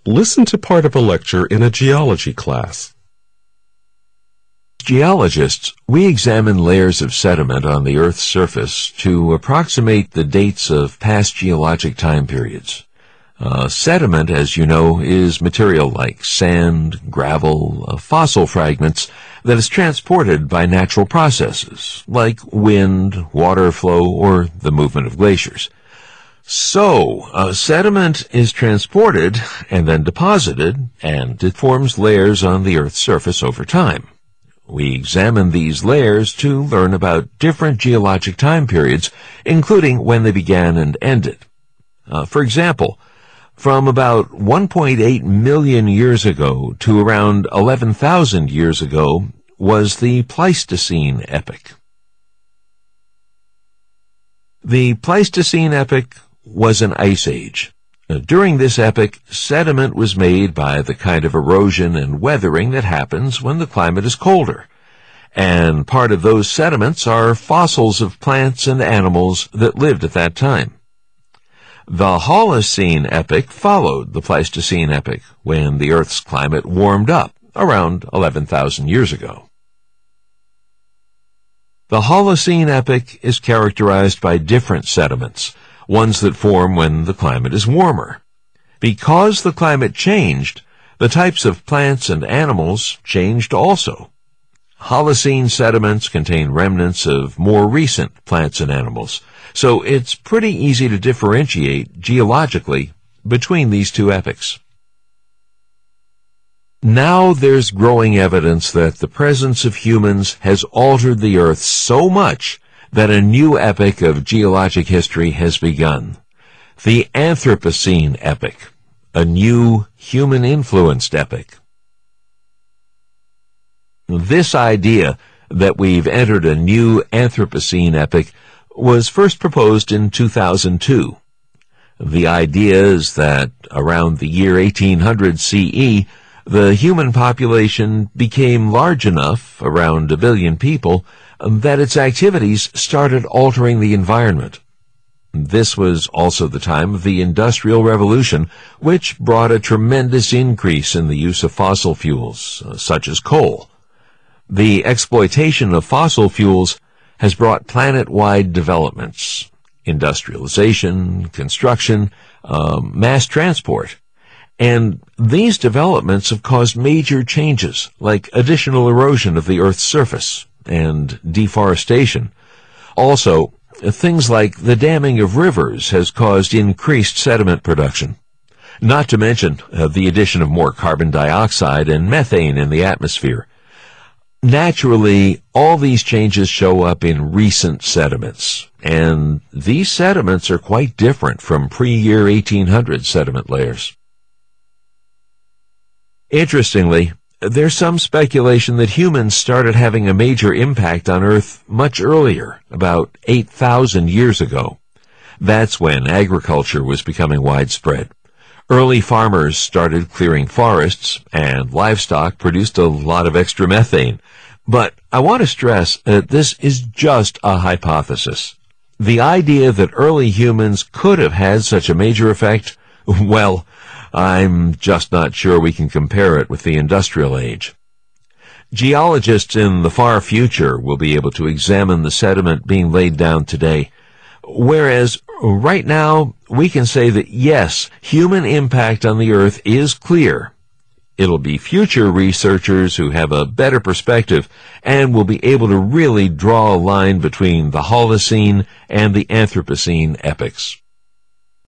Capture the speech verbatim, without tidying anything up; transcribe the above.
Listen to part of a lecture in a geology class. Geologists, we examine layers of sediment on the Earth's surface to approximate the dates of past geologic time periods. Uh, sediment, as you know, is material like sand, gravel, uh, fossil fragments that is transported by natural processes, like wind, water flow, or the movement of glaciers. So, uh, sediment is transported and then deposited, and it forms layers on the Earth's surface over time. We examine these layers to learn about different geologic time periods, including when they began and ended. Uh, for example, from about one point eight million years ago to around eleven thousand years ago was the Pleistocene epoch. The Pleistocene epoch was an ice age. During this epoch, sediment was made by the kind of erosion and weathering that happens when the climate is colder. And part of those sediments are fossils of plants and animals that lived at that time. The Holocene epoch followed the Pleistocene epoch, when the Earth's climate warmed up around eleven thousand years ago. The Holocene epoch is characterized by different sediments, ones that form when the climate is warmer. Because the climate changed, the types of plants and animals changed also. Holocene sediments contain remnants of more recent plants and animals, so it's pretty easy to differentiate geologically between these two epochs. Now there's growing evidence that the presence of humans has altered the Earth so much that a new epoch of geologic history has begun, the Anthropocene epoch, a new human-influenced epoch. This idea that we've entered a new Anthropocene epoch was first proposed in two thousand two. The idea is that around the year eighteen hundred C E, the human population became large enough, around a billion people, that its activities started altering the environment. This was also the time of the Industrial Revolution, which brought a tremendous increase in the use of fossil fuels, uh, such as coal. The exploitation of fossil fuels has brought planet-wide developments, industrialization, construction, um, mass transport. And these developments have caused major changes, like additional erosion of the Earth's surface and deforestation. Also, things like the damming of rivers has caused increased sediment production. Not to mention uh, the addition of more carbon dioxide and methane in the atmosphere. Naturally, all these changes show up in recent sediments, and these sediments are quite different from pre-year eighteen hundred sediment layers. Interestingly, there's some speculation that humans started having a major impact on Earth much earlier, about eight thousand years ago. That's when agriculture was becoming widespread. Early farmers started clearing forests, and livestock produced a lot of extra methane. But I want to stress that this is just a hypothesis. The idea that early humans could have had such a major effect, well, I'm just not sure we can compare it with the industrial age. Geologists in the far future will be able to examine the sediment being laid down today, whereas right now we can say that yes, human impact on the Earth is clear. It'll be future researchers who have a better perspective and will be able to really draw a line between the Holocene and the Anthropocene epochs.